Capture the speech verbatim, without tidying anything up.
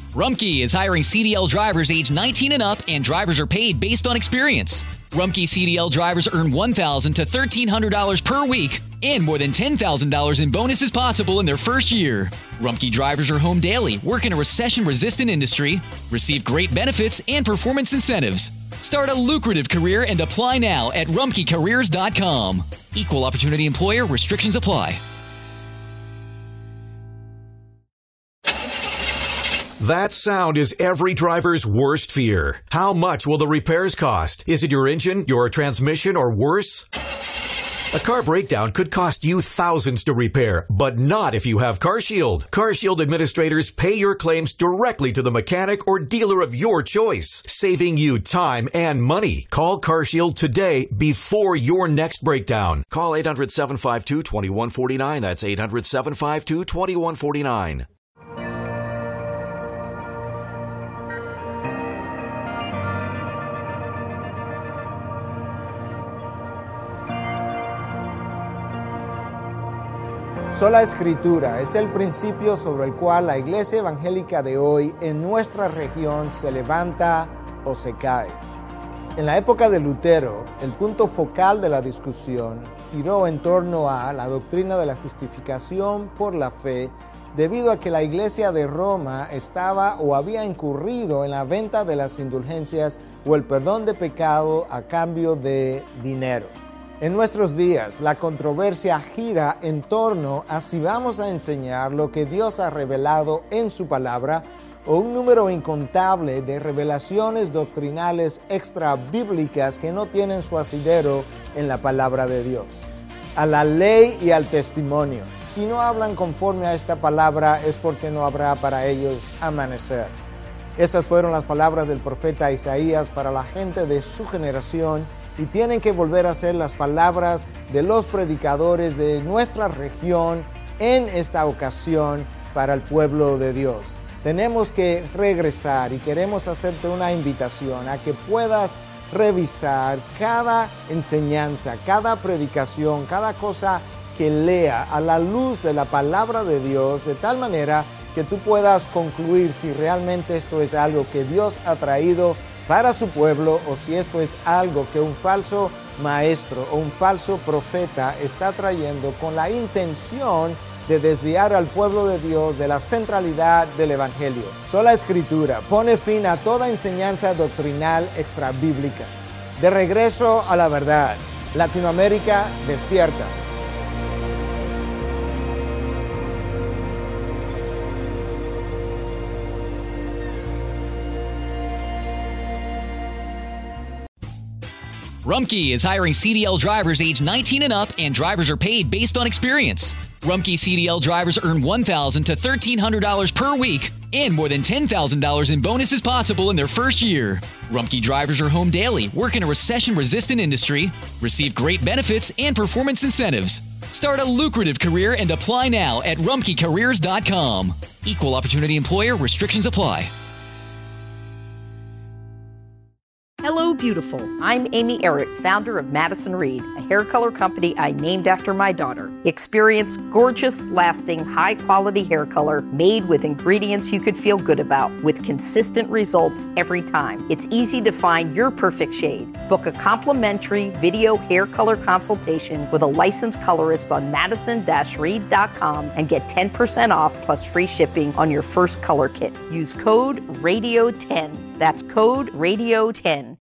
Rumpke is hiring C D L drivers age nineteen and up, and drivers are paid based on experience. Rumpke C D L drivers earn one thousand dollars to thirteen hundred dollars per week, and more than ten thousand dollars in bonuses possible in their first year. Rumpke drivers are home daily, work in a recession-resistant industry, receive great benefits and performance incentives. Start a lucrative career and apply now at rumpke careers dot com. Equal opportunity employer. Restrictions apply. That sound is every driver's worst fear. How much will the repairs cost? Is it your engine, your transmission, or worse? A car breakdown could cost you thousands to repair, but not if you have CarShield. CarShield administrators pay your claims directly to the mechanic or dealer of your choice, saving you time and money. Call CarShield today before your next breakdown. Call eight hundred, seven five two, two one four nine. That's eight hundred, seven five two, two one four nine. Sola Escritura es el principio sobre el cual la iglesia evangélica de hoy en nuestra región se levanta o se cae. En la época de Lutero, el punto focal de la discusión giró en torno a la doctrina de la justificación por la fe, debido a que la iglesia de Roma estaba o había incurrido en la venta de las indulgencias o el perdón de pecado a cambio de dinero. En nuestros días, la controversia gira en torno a si vamos a enseñar lo que Dios ha revelado en su palabra o un número incontable de revelaciones doctrinales extra bíblicas que no tienen su asidero en la palabra de Dios. A la ley y al testimonio. Si no hablan conforme a esta palabra es porque no habrá para ellos amanecer. Estas fueron las palabras del profeta Isaías para la gente de su generación, y tienen que volver a ser las palabras de los predicadores de nuestra región en esta ocasión para el pueblo de Dios. Tenemos que regresar y queremos hacerte una invitación a que puedas revisar cada enseñanza, cada predicación, cada cosa que lea a la luz de la palabra de Dios, de tal manera que tú puedas concluir si realmente esto es algo que Dios ha traído para su pueblo o si esto es algo que un falso maestro o un falso profeta está trayendo con la intención de desviar al pueblo de Dios de la centralidad del Evangelio. Sola Escritura pone fin a toda enseñanza doctrinal extrabíblica. De regreso a la verdad. Latinoamérica despierta. Rumpke is hiring C D L drivers age nineteen and up, and drivers are paid based on experience. Rumpke C D L drivers earn one thousand dollars to thirteen hundred dollars per week, and more than ten thousand dollars in bonuses possible in their first year. Rumpke drivers are home daily, work in a recession-resistant industry, receive great benefits and performance incentives. Start a lucrative career and apply now at rumpke careers dot com. Equal opportunity employer. Restrictions apply. Hello, beautiful. I'm Amy Errett, founder of Madison Reed, a hair color company I named after my daughter. Experience gorgeous, lasting, high-quality hair color made with ingredients you could feel good about, with consistent results every time. It's easy to find your perfect shade. Book a complimentary video hair color consultation with a licensed colorist on madison dash reed dot com and get ten percent off plus free shipping on your first color kit. Use code radio ten. That's code radio ten.